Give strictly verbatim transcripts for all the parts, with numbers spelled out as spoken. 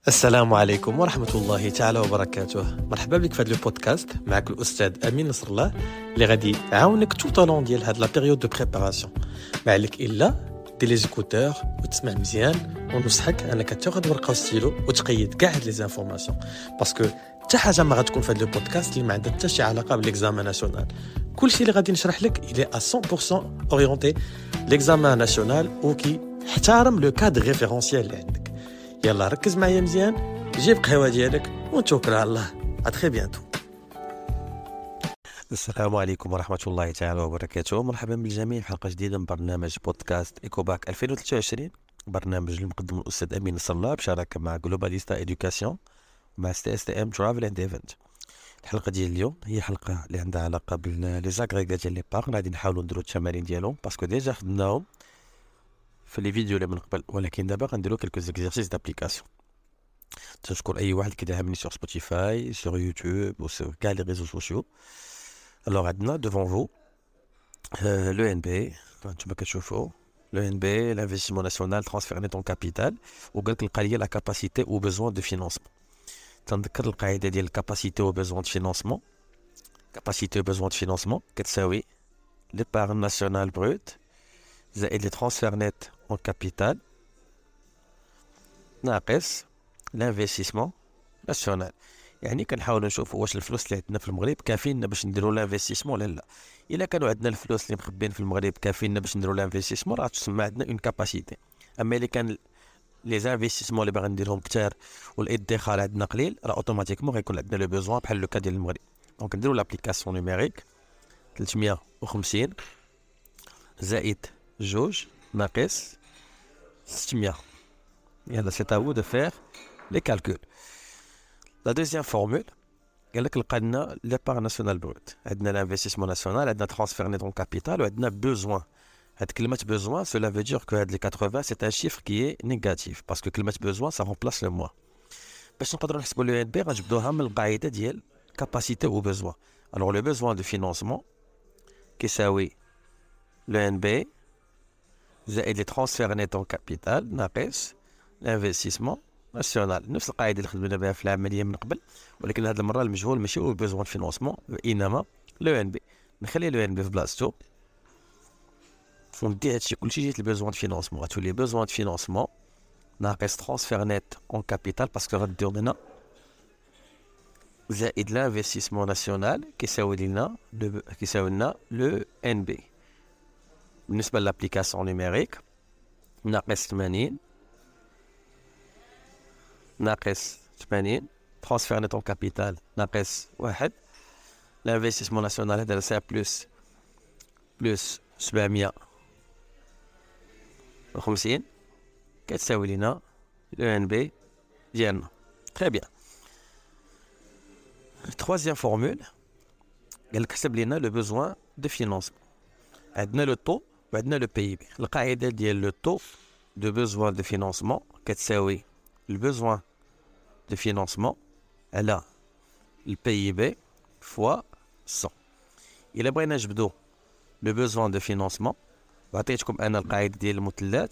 السلام عليكم ورحمة الله تعالى وبركاته. مرحبا بك في هذا البودكاست. معك الأستاذ أمين نصر الله اللي غادي يعاونك tout au long ديال هاد لا بيريود دو بريباراسيون. ما عليك إلا دير لي زيكوتور وتسمع مزيان، ونصحك أنك تاخذ ورقة وستيلو وتقيد كاع هاد لي زانفورماسيون، باسكو حتى حاجة ما غتكون في هاد البودكاست اللي ما عندها حتى شي علاقة بالإكزامان ناسيونال. كلشي اللي غادي نشرح لك إلي à cent pour cent أورينتي لإكزامان ناسيونال وكي احترم لو كادر ريفيرونسيال اللي عندك. يلا ركز معايا مزيان، جيب قهوة ديالك ونتوكل على الله. ا تري بيانتو. السلام عليكم ورحمة الله تعالى وبركاته. مرحبا بالجميع في حلقة جديدة من برنامج بودكاست إيكوباك ألفين وثلاثة وعشرين، برنامج اللي مقدم الأستاذ أمين نصر الله بشراكة مع جلوباليستا إيدوكاسيون مع سي اس تي ام ترافل اند ايفنت. الحلقة ديال اليوم هي حلقة اللي عندها علاقة بلي زاغريغا ديال لي باغ. غادي نحاولوا نديروا التمارين ديالهم باسكو ديجا خدناهم في لي فيديو اللي من قبل، ولكن دابا غنديروا كلكو زيكزارسيس دابليكاسيون. تشكر اي واحد كيدعمني سور سبوتيفاي سور يوتيوب وسور كاع لي ريزو سوسيو. الوغ عندنا دوفون فو لو ان بي، نتوما كتشوفوا لو ان بي l'investissement national transfert net en capital، وقال لك القضيه لا كاباسيتي او بيزوان دو فينانسمون. تنذكر القاعده ديال الكاباسيتي او بيزوان دو فينانسمون. كاباسيتي او بيزوان دو فينانسمون كتساوي l'épargne nationale brute زائد لي ترانسفير نت اون كابيتال ناقص لانفستيسمون ناسيونال. يعني كنحاولوا نشوفوا واش الفلوس اللي عندنا في المغرب كافيين باش نديروا لانفستيسمون ولا لا. الا كانوا عندنا الفلوس اللي مخبين في المغرب كافيين باش نديروا لانفستيسمون، راه تسمى عندنا اون كاباسيتي. اما الا كان لي زانفستيسمون اللي باغي نديرهم كثار والادخار عندنا قليل، راه اوتوماتيكمون غيكون عندنا لو بيزوان بحال لو كا ديال المغرب. دونك نديروا لابليكاسيون نيميريك ثلاثمية وخمسين زائد جوج ناقص ستمية. يلا سي تاو دو فير لي كالكول. لا دوزيام فورمول قال لك لقى لنا ليبار ناسيونال بروت، عندنا لانفستيسمون ناسيونال، عندنا ترانسفير نيت اون كابيتال، وعندنا بوزوان. هاد كلمه بوزوان سولا فو دير كو هاد لي ثمانين سي ان شيفر كي نيجاتيف باسكو كلمه بوزوان سا رومبلاس لو موا. باش نقدروا نحسبوا لو ان بي غنجبدوها من القاعده ديال كاباسيتي او بوزوان. الوغ لو بوزوان دو فينانسمون كيساوي لو ان بي زائد لي ترانسفير نيت اون كابيتال ناقص l'investissement national. نفس القاعده اللي خدمنا بها في العمليه من قبل، ولكن هذه المره المجهول ماشي هو البيزوان فينانسمون وانما لو ان بي. نخلي لو ان بي في بلاصتو وندي هادشي كلشي جيت البيزوان فينانسمون. غتولي بيزوان فينانسمون ناقص ترانسفير نيت اون كابيتال باسكو غديو لنا زائد l'investissement national كيساوي لنا كيساوي لنا لو ان بي. بالنسبه لابليكاسيون نيميريك ناقص ثمانين ناقص ثمانين ترانسفير نت اون كابيتال ناقص واحد لانفستيسمون ناسيونال هذا سا بلس بلس سبعمية وخمسين كتساوي لنا لو ان بي ديالنا. تري بيان. تروازيام فورمول قال لك حسب لنا لو بوزوان دو فينانسمون. عندنا لو طو وعندنا لو بي بي. القاعده ديال لو طو دو بوزوان دو فينانسمون كتساوي البوزوان de financement على البي بي فوا مية. إلا بغينا نجبدو لو بوزوان دو فينانسمون، وعطيتكم أنا القاعدة ديال المثلثات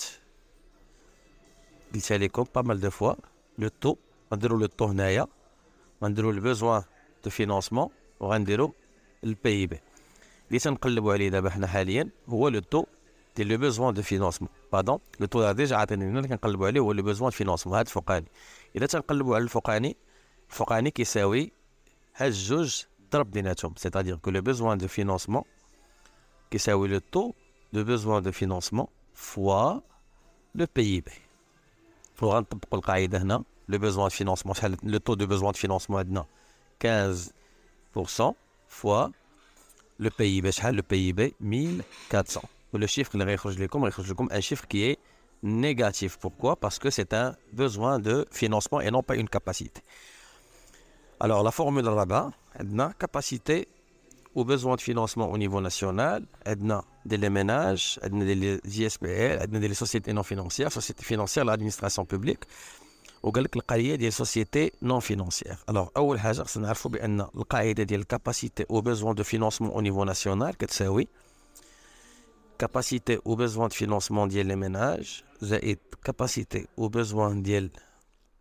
قلتها لكم با مال دو فوا. لو طو غنديرو لو طو هنايا، غنديرو لو بوزوان دو فينانسمون وغنديرو البي بي. اللي تنقلبوا عليه دابا حنا حاليا هو لو طو ديال لو بوزوان دو فينانسمون. باردون لو طو ديجا عاطيني لنا اللي كنقلبوا عليه هو لو بوزوان دو فينانسمون هاد الفوقاني. الا تنقلبوا على الفوقاني، الفوقاني كيساوي هاد الجوج ضرب بيناتهم، سيتادير كو لو بوزوان دو فينانسمون كيساوي لو طو دو بوزوان دو فينانسمون فوا لو بي بي. وغنطبقوا القاعده هنا. لو بوزوان دو فينانسمون شحال لو طو دو بوزوان دو فينانسمون عندنا خمسطاش بالمية فوا لو بي بي شحال؟ لو بي بي ألف وأربعمية. ولو شيفر اللي غيخرج لكم غيخرج لكم ان شيفر كي اي négatif. Pourquoi? Parce que c'est un besoin de financement et non pas une capacité. Alors la formule rabat, عندنا capacité ou besoin de financement au niveau national, عندنا des ménages, عندنا des I S P L, عندنا des sociétés non financières, sociétés financières, l'administration publique. وقال لك القضيه ديال société non financière. Alors اول حاجه خصنا نعرفوا بان القاعده ديال capacité ou besoin de financement au niveau national كتساوي capacité ou besoin de financement ديال les ménages زائد capacité ou besoin ديال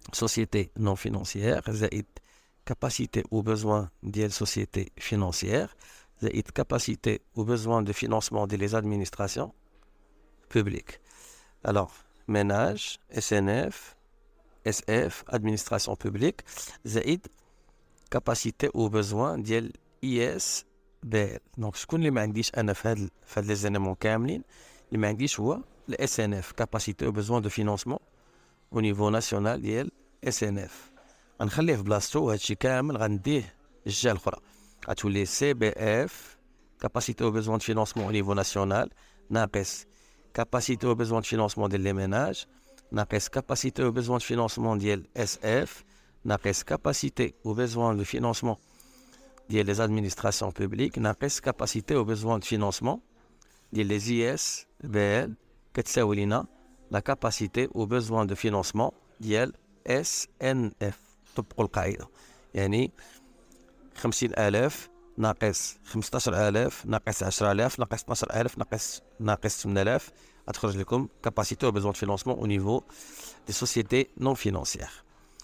société non financière زائد capacité ou besoin ديال société financière زائد capacité ou besoin de financement des administrations publiques. Alors, ménage, S N F, S F, administration publique, زائد capacité ou besoin ديال I S B L. Donc, شكون اللي ما عنديش أنا في هاد في هاد لي زينيمون كاملين اللي ما عنديش هو ال S N F, capacité ou besoin de financement au niveau national ديال S N F. غنخليه في بلاصتو وهادشي كامل غنديه الجهة الأخرى. غتولي C B F, capacité ou besoin de financement au niveau national, ناقص capacité ou besoin de financement ديال لي ménages, ناقص capacité ou besoin de financement ديال S F, ناقص capacité ou besoin de financement ديال les administrations publiques, ناقص capacité ou besoin de financement ديال les I S B L كتساوي لينا la capacité ou besoin de financement ديال S N F. طبقوا القاعدة، يعني خمسين ألاف ناقص خمسطاش ألاف ناقص عشرة آلاف ناقص اثناش ألف ناقص ناقص ثمانية آلاف غتخرج لكم capacité ou besoin de financement au niveau des sociétés non financières.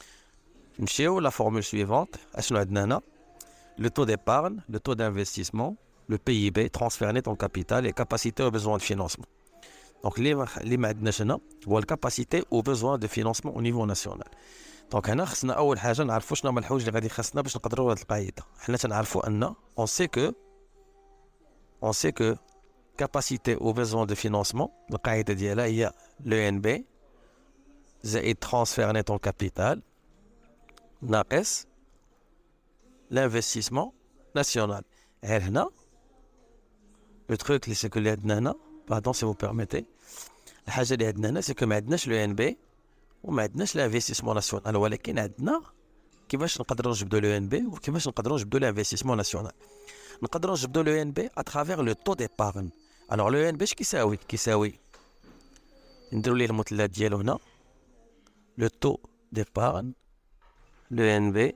نمشيو لا فورمول سويفونت. اشنو عندنا هنا؟ le taux d'épargne, le taux d'investissement, le P I B, transfert net en capital et capacité au besoin de financement. Donc, les ما هو الكاباسيتي او besoin de financement au niveau national. دونك هنا خصنا اول حاجه نعرفوا شنو هما الحوايج اللي غادي خاصنا باش نقدروا هاد القاعده. حنا تنعرفوا ان on sait que on sait que capacité au besoin de financement القاعده ديالها هي le N B زائد transfert net en capital ناقص l'investissement national. غير هنا لو تروك اللي سيكو اللي عندنا هنا باردون سي فو بيرميتي، الحاجه اللي عندنا هنا سيكو ما عندناش لو ان بي وما عندناش لانفستيسمون ناسيونال، ولكن عندنا كيفاش نقدروا نجبدوا لو ان بي وكيفاش نقدروا نجبدوا لانفستيسمون ناسيونال. نقدروا نجبدوا لو ان بي اترافير لو طو ديبارن. الوغ لو ان بي اش كيساوي؟ كيساوي نديروا ليه المثلث ديالو هنا لو طو ديبارن لو ان بي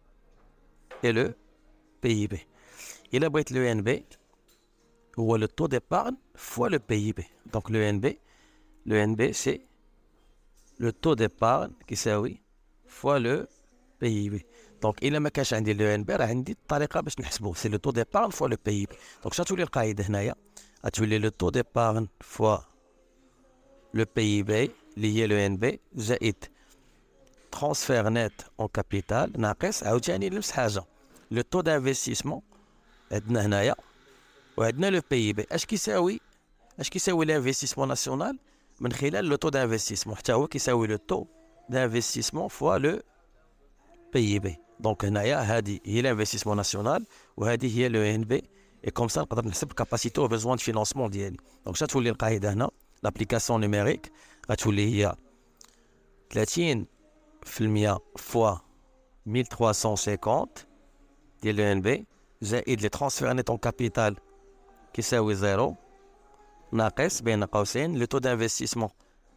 et le P I B. Il a beau être le N B ou le taux d'épargne fois le P I B. Donc le N B, le N B c'est le taux d'épargne qui s'ajoute fois le P I B. Donc il a ما كانش عندي le N B راه عندي الطريقه باش نحسبوه c'est le taux d'épargne fois le P I B. Donc شاتولي القاعده هنايا غتولي le taux d'épargne fois le P I B اللي هي le N B زائد transfert net en capital ناقص عاوتاني نفس حاجه لو طو دانفستيسمون عندنا هنايا وعندنا لو بي بي. اش كيساوي اش كيساوي لانفستيسمون ناسيونال من خلال لو طو دانفستيسمون؟ حتى هو كيساوي لو طو دانفستيسمون فوا لو بي بي. دونك هنايا هذه هي لانفستيسمون ناسيونال وهذه هي لو ان بي، اي كوم سا نقدر نحسب الكاباسيتي و بيزوان دو فينانسمون ديالي. دونك شنو تولي القاعده هنا؟ لابليكاسيون نيميريك غتولي هي ثلاثين في المية فوا mille trois cent cinquante ديال لو ان بي زائد لي ترانسفير نيت اون كابيتال كيساوي زيرو ناقص بين قوسين لو تو دانفستيسمون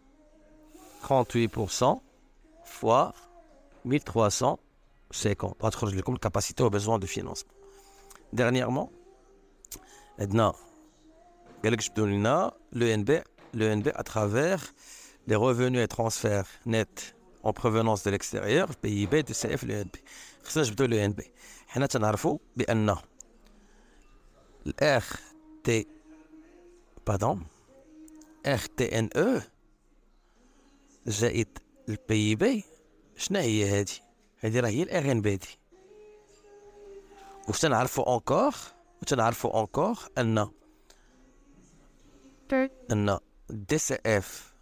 ثلاثة وثمانين بالمية فوا mille trois cent cinquante غتخرج لكم الكاباسيتي و بيزوان دو فينانسمون. ديرنييرمون عندنا قالك جبدوا لنا لو ان بي لو ان بي اترافير لي revenus et transferts nets en provenance de l'extérieur P I B de C F le N B. خصنا نجبدوا لو ان بي. حنا تنعرفوا بان ال R T pardon R T N E زائد ال P I B شنو هي هذه؟ هذه راه هي ال R N B دي. واش تنعرفوا انكور وتنعرفوا انكور ان ان دي سي اف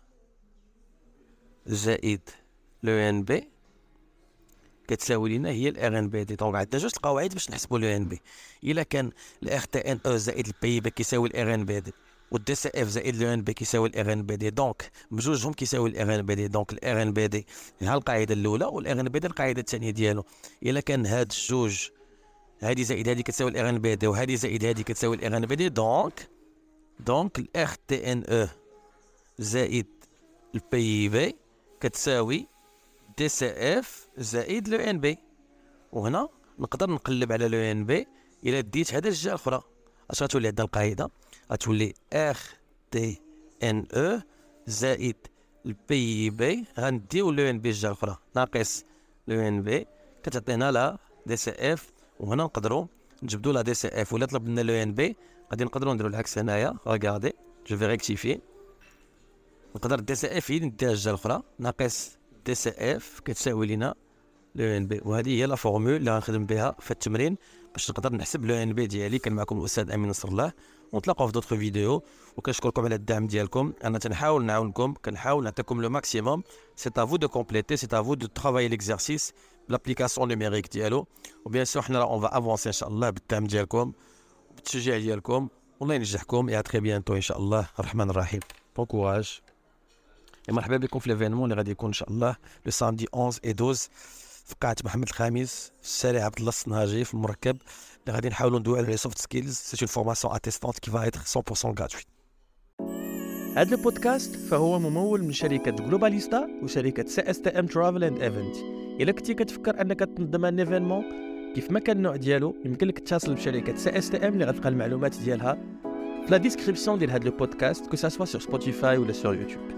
زائد لو ان بي كتساوي لنا هي الار ان بي دي. دونك عندنا جوج القواعد باش نحسبوا لو ان بي. الا كان الار تي ان او زائد البي بي كيساوي الار ان بي دي والدي سي اف زائد لو ان بي كيساوي الار ان بي دي، دونك بجوجهم كيساوي الار ان بي دي. دونك الار ان بي دي ها القاعده الاولى والار ان بي دي القاعده الثانيه ديالو. الا كان هاد الجوج هادي زائد هادي كتساوي الار ان بي دي وهادي زائد هادي كتساوي الار ان بي دي، دونك دونك الار تي ان او زائد البي بي كتساوي دي سي اف زائد لو ان بي. وهنا نقدر نقلب على لو ان بي الى ديت هذا الجهه الاخرى. اش غتولي عندنا القاعده؟ غتولي ار تي ان او زائد البي بي غنديو لو ان بي الجهه الاخرى ناقص لو ان بي كتعطينا لا دي سي اف. وهنا نقدروا نجبدوا لا دي سي اف ولا طلب لنا لو ان بي غادي نقدروا نديروا العكس هنايا. ريغاردي جو في ريكتيفي نقدر دي سي اف هي نديها الجهه الاخرى ناقص دي سي اف كتساوي لنا لو ان بي. وهذه هي لا فورمول اللي غنخدم بها في التمرين باش نقدر نحسب لو ان بي ديالي. كان معكم الاستاذ امين نصر الله ونتلاقاو في دوطخ فيديو. وكنشكركم على الدعم ديالكم. انا تنحاول نعاونكم كنحاول نعطيكم لو ماكسيموم. سي ا فو دو كومبليتي سي ا فو دو ترافاي ليكزارسيس بلابليكاسيون نيميريك ديالو. وبيان سور حنا اون فا افونسي ان شاء الله بالدعم ديالكم بالتشجيع ديالكم. والله ينجحكم. يا تري بيانتو ان شاء الله الرحمن الرحيم. بون كوراج. مرحبا بكم في ليفينمون اللي غادي يكون ان شاء الله لو سامدي واحد و اثناشر في قاعه محمد الخامس في الشارع عبد الله الصنهاجي في المركب اللي غادي نحاولوا ندويو على لي سوفت سكيلز. سي اون فورماسيون اتيستانت كي فا ايتر مية بالمية غراتويت. هذا البودكاست فهو ممول من شركة جلوباليستا وشركة سي اس تي ام ترافل اند ايفنت. إلا كنتي كتفكر انك تنظم ان ايفينمون كيف ما كان النوع ديالو يمكن لك تتصل بشركة سي اس تي ام اللي غتلقى المعلومات ديالها في لا ديسكريبسيون ديال هذا البودكاست كو سا سوا سور سبوتيفاي ولا سور يوتيوب.